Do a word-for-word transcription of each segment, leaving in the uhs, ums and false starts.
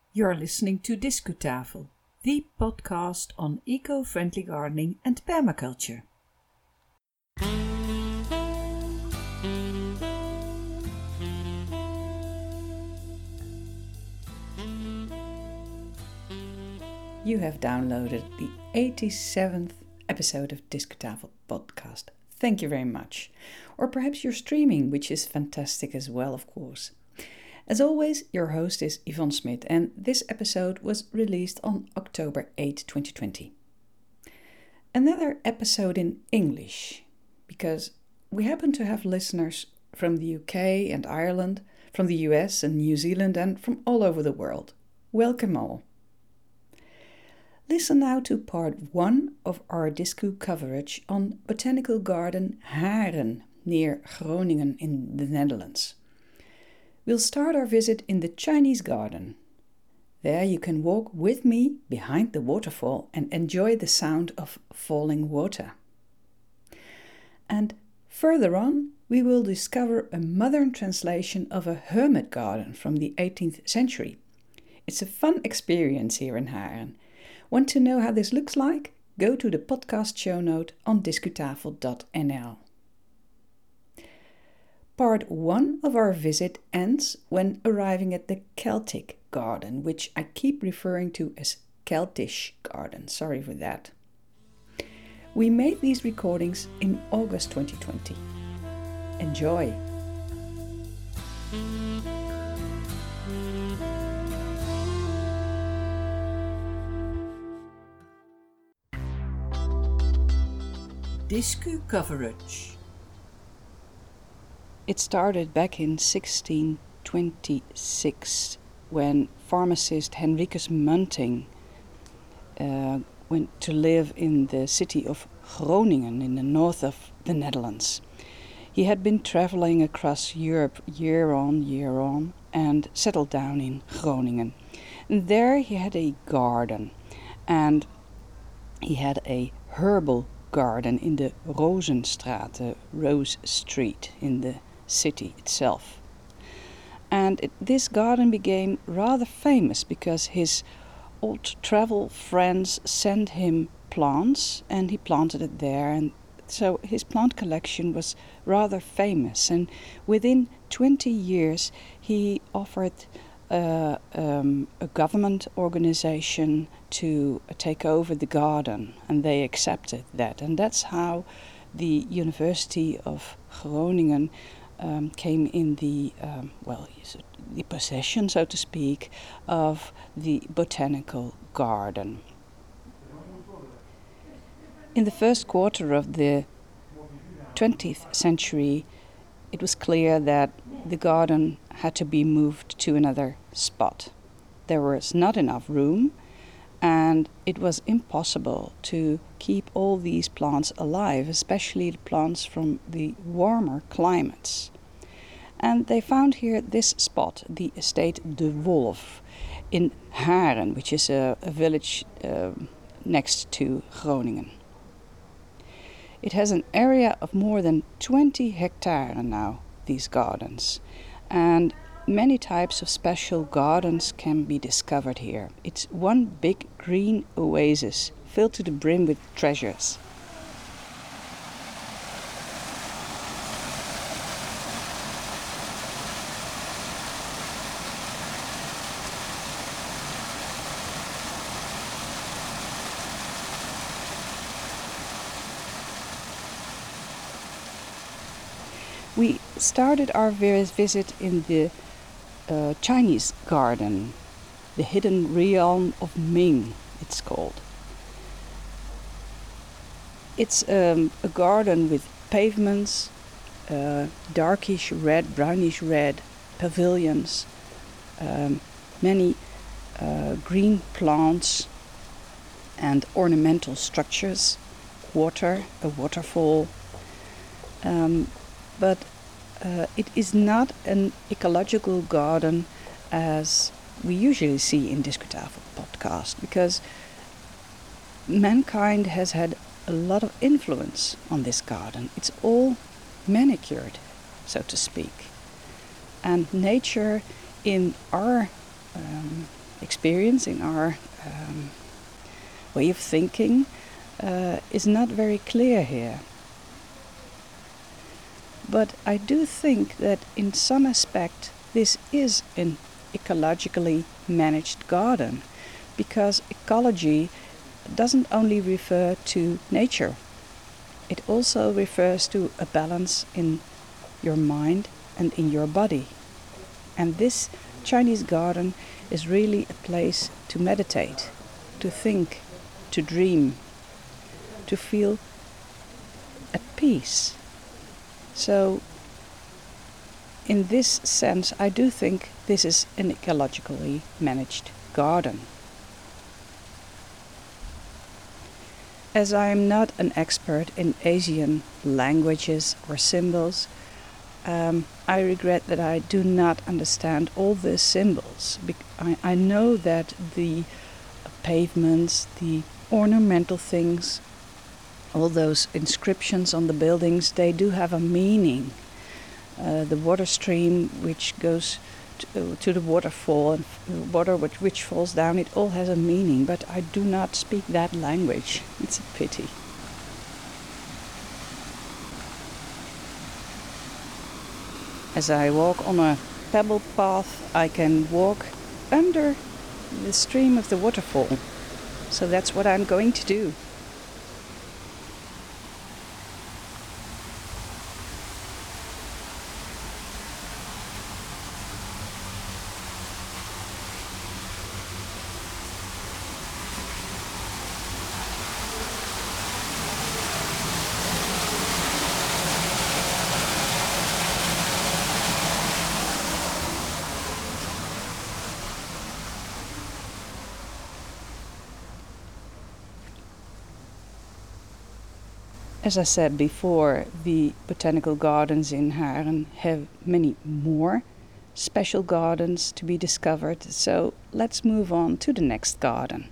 You're listening to Discutafel, the podcast on eco-friendly gardening and permaculture. You have downloaded the eighty-seventh episode of Discutafel podcast. Thank you very much. Or perhaps you're streaming, which is fantastic as well, of course. As always, your host is Yvonne Smit, and this episode was released on October eighth, twenty twenty. Another episode in English, because we happen to have listeners from the U K and Ireland, from the U S and New Zealand, and from all over the world. Welcome all. Listen now to part one of our Discu coverage on Botanical Garden Haren near Groningen in the Netherlands. We'll start our visit in the Chinese garden. There you can walk with me behind the waterfall and enjoy the sound of falling water. And further on, we will discover a modern translation of a hermit garden from the eighteenth century. It's a fun experience here in Haren. Want to know how this looks like? Go to the podcast show note on discutafel dot n l. Part one of our visit ends when arriving at the Celtic garden, which I keep referring to as Celtish garden. Sorry for that. We made these recordings in August twenty twenty. Enjoy! Discu coverage. It started back in sixteen twenty-six when pharmacist Henricus Munting uh, went to live in the city of Groningen in the north of the Netherlands. He had been traveling across Europe year on, year on, and settled down in Groningen. And there he had a garden, and he had a herbal garden in the Rozenstraat, the Rose Street in the city itself. And it, this garden became rather famous because his old travel friends sent him plants and he planted it there, and so his plant collection was rather famous. And within twenty years he offered uh, um, a government organization to take over the garden, and they accepted that, and that's how the University of Groningen um, came in the um, well, the possession, so to speak, of the botanical garden. In the first quarter of the twentieth century, it was clear that the garden had to be moved to another spot. There was not enough room, and it was impossible to keep all these plants alive, especially the plants from the warmer climates. And they found here this spot, the estate De Wolf, in Haren, which is a, a village uh, next to Groningen. It has an area of more than twenty hectares now, these gardens, and many types of special gardens can be discovered here. It's one big green oasis filled to the brim with treasures. We started our visit in the uh, Chinese garden, the Hidden Realm of Ming, it's called. It's um, a garden with pavements, uh, darkish red, brownish red pavilions, um, many uh, green plants and ornamental structures, water, a waterfall. Um, but uh, it is not an ecological garden as we usually see in Discutafel podcast, because mankind has had a lot of influence on this garden. It's all manicured, so to speak. And nature in our um, experience, in our um, way of thinking, uh, is not very clear here. But I do think that in some aspect this is an ecologically managed garden, because ecology doesn't only refer to nature. It also refers to a balance in your mind and in your body. And this Chinese garden is really a place to meditate, to think, to dream, to feel at peace. So, in this sense, I do think this is an ecologically managed garden. As I am not an expert in Asian languages or symbols, um, I regret that I do not understand all the symbols. I, I know that the pavements, the ornamental things, all those inscriptions on the buildings, they do have a meaning. Uh, the water stream which goes to, uh, to the waterfall, and f- water which, which falls down, it all has a meaning, but I do not speak that language. It's a pity. As I walk on a pebble path, I can walk under the stream of the waterfall. So that's what I'm going to do. As I said before, the botanical gardens in Haren have many more special gardens to be discovered, so let's move on to the next garden.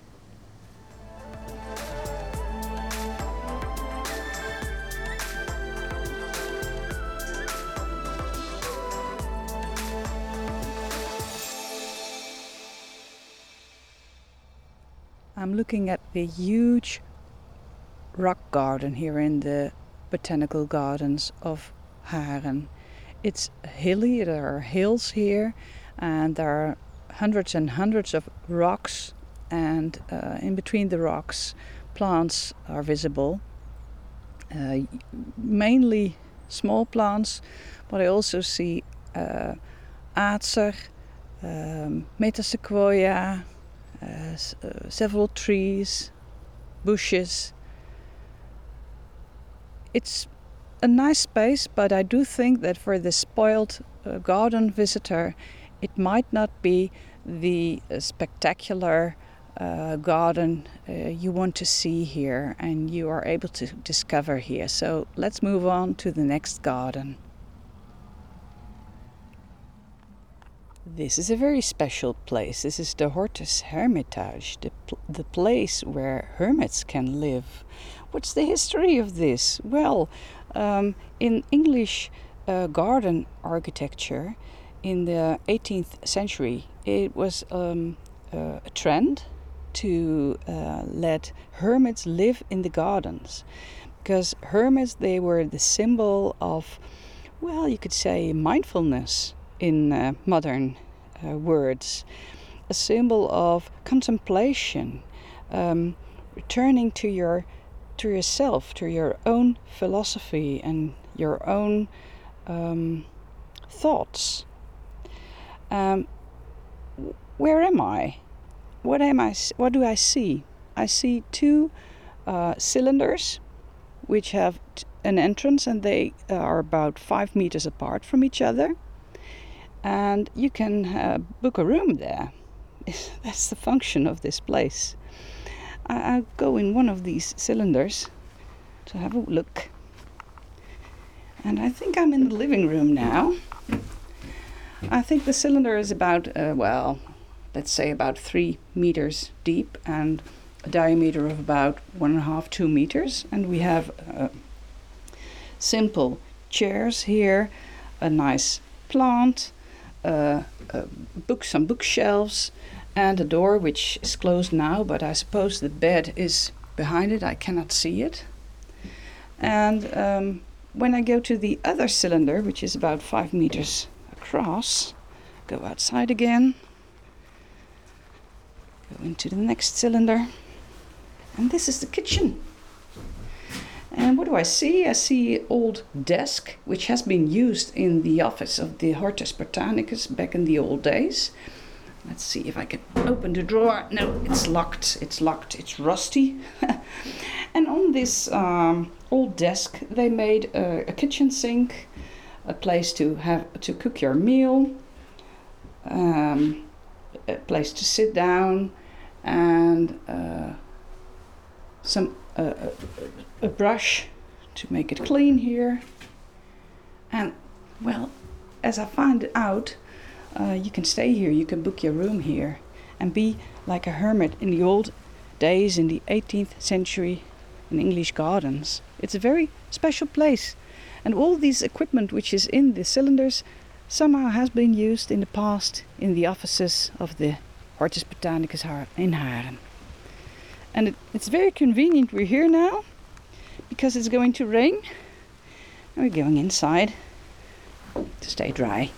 I'm looking at the huge rock garden here in the botanical gardens of Haren. It's hilly, there are hills here, and there are hundreds and hundreds of rocks, and uh, in between the rocks plants are visible. Uh, mainly small plants, but I also see uh, acer, um, metasequoia, uh, s- uh, several trees, bushes. It's a nice space, but I do think that for the spoiled uh, garden visitor, it might not be the uh, spectacular uh, garden uh, you want to see here and you are able to discover here. So let's move on to the next garden. This is a very special place. This is the Hortus Hermitage, the, pl- the place where hermits can live. What's the history of this? Well, um, in English uh, garden architecture in the eighteenth century, it was um, uh, a trend to uh, let hermits live in the gardens. Because hermits, they were the symbol of, well, you could say mindfulness in uh, modern uh, words, a symbol of contemplation, um, returning to your to yourself, to your own philosophy and your own um, thoughts. Um, where am I? What am I? What do I see? I see two uh, cylinders, which have t- an entrance, and they are about five meters apart from each other. And you can uh, book a room there. That's the function of this place. I- I'll go in one of these cylinders to have a look. And I think I'm in the living room now. I think the cylinder is about, uh, well, let's say about three meters deep and a diameter of about one and a half, two meters. And we have uh, simple chairs here, a nice plant, uh, uh, book, some bookshelves, and a door which is closed now, but I suppose the bed is behind it. I cannot see it. And um, when I go to the other cylinder, which is about five meters across, go outside again, go into the next cylinder, and this is the kitchen. And what do I see? I see an old desk, which has been used in the office of the Hortus Botanicus back in the old days. Let's see if I can open the drawer. No, it's locked. It's locked. It's rusty. And on this um, old desk, they made a, a kitchen sink, a place to have to cook your meal, um, a place to sit down, and uh, some uh, a, a brush to make it clean here. And well, as I find out, uh, you can stay here. You can book your room here and be like a hermit in the old days in the eighteenth century in English gardens. It's a very special place, and all this equipment which is in the cylinders somehow has been used in the past in the offices of the Hortus Botanicus in Haren. And it, it's very convenient we're here now, because it's going to rain, and we're going inside to stay dry.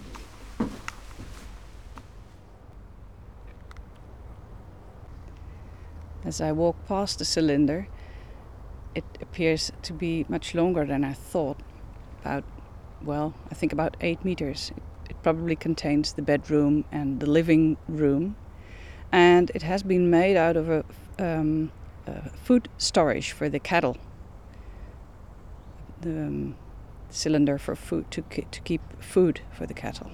As I walk past the cylinder, it appears to be much longer than I thought. About, well, I think about eight meters. It, it probably contains the bedroom and the living room. And it has been made out of a, um, a food storage for the cattle. The um, cylinder for food, to, ki- to keep food for the cattle.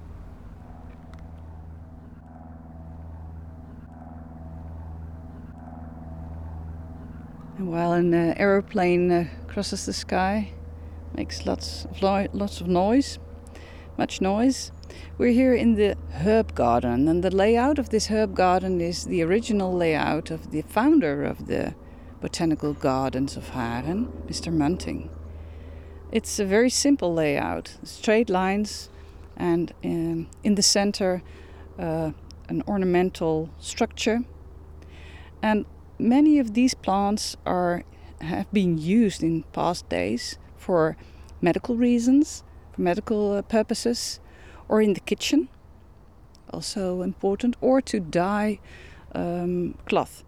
And while an uh, aeroplane uh, crosses the sky, makes lots of lo- lots of noise, much noise. We're here in the herb garden, and the layout of this herb garden is the original layout of the founder of the Botanical Gardens of Haren, Mister Munting. It's a very simple layout, straight lines, and um, in the center uh, an ornamental structure. And many of these plants are have been used in past days for medical reasons, for medical uh, purposes, or in the kitchen, also important, or to dye um, cloth.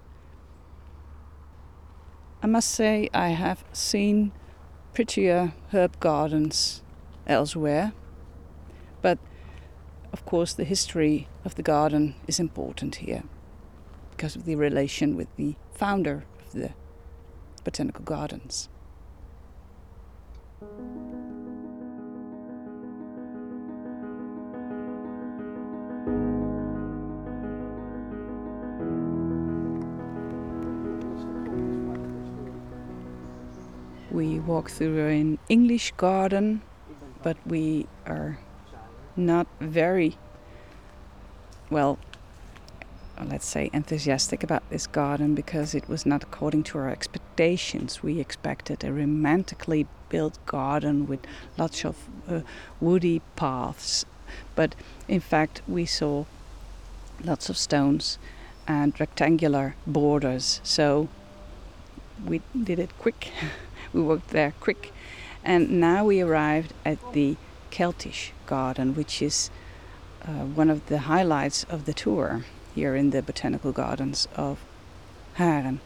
I must say I have seen prettier herb gardens elsewhere, but of course the history of the garden is important here, because of the relation with the founder of the Botanical Gardens. We walk through an English garden, but we are not very, well, let's say, enthusiastic about this garden, because it was not according to our expectations. We expected a romantically built garden with lots of uh, woody paths, but in fact we saw lots of stones and rectangular borders, so we did it quick. We walked there quick, and now we arrived at the Keltish garden, which is uh, one of the highlights of the tour here in the Botanical Gardens of Haren.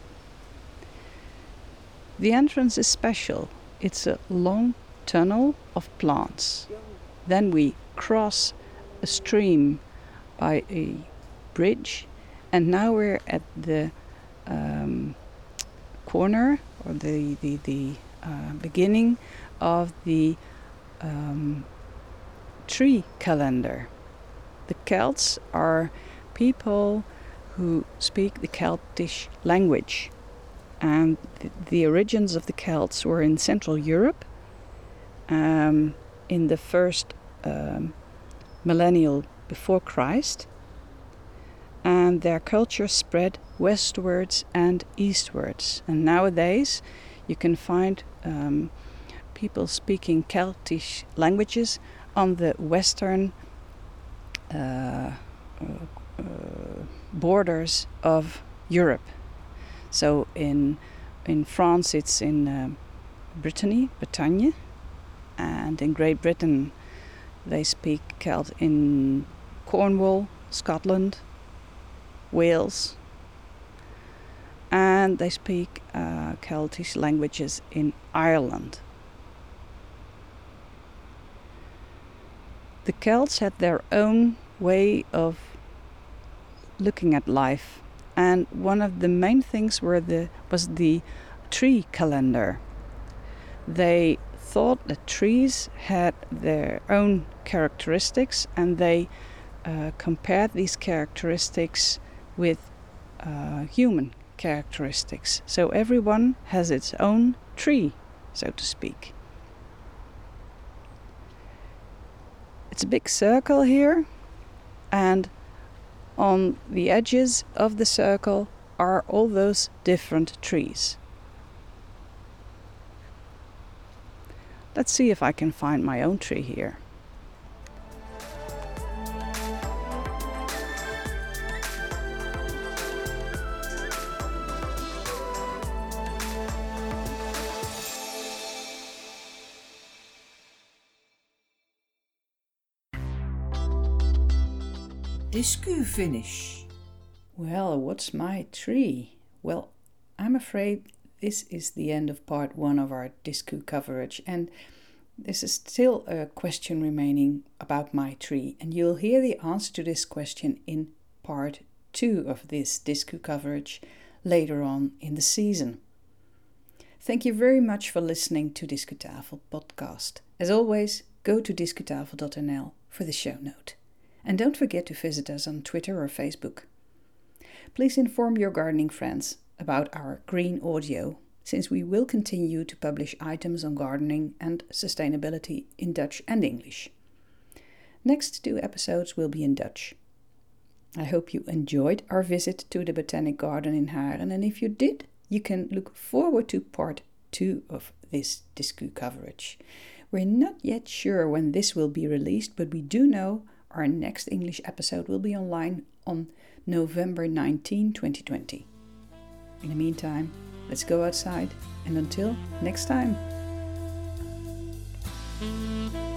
The entrance is special. It's a long tunnel of plants. Then we cross a stream by a bridge, and now we're at the um, corner, or the the, the uh, beginning of the um, tree calendar. The Celts are people who speak the Celtish language, and the, the origins of the Celts were in Central Europe um, in the first um, millennial before Christ, and their culture spread westwards and eastwards. And nowadays you can find um, people speaking Celtish languages on the western uh, uh, uh, borders of Europe. So in in France it's in uh, Brittany, Bretagne, and in Great Britain they speak Celt in Cornwall, Scotland, Wales, and they speak uh, Celtic languages in Ireland. The Celts had their own way of looking at life, and one of the main things were the was the tree calendar. They thought that trees had their own characteristics, and they uh, compared these characteristics with uh, human characteristics. So everyone has its own tree, so to speak. It's a big circle here, and on the edges of the circle are all those different trees. Let's see if I can find my own tree here. Discu finish. Well, what's my tree? Well, I'm afraid this is the end of part one of our Discu coverage, and this is still a question remaining about my tree, and you'll hear the answer to this question in part two of this Discu coverage later on in the season. Thank you very much for listening to Discutafel podcast. As always, go to discutafel dot n l for the show note. And don't forget to visit us on Twitter or Facebook. Please inform your gardening friends about our green audio, since we will continue to publish items on gardening and sustainability in Dutch and English. Next two episodes will be in Dutch. I hope you enjoyed our visit to the Botanic Garden in Haren, and if you did, you can look forward to part two of this Discu coverage. We're not yet sure when this will be released, but we do know our next English episode will be online on November nineteenth, twenty twenty. In the meantime, let's go outside, and until next time.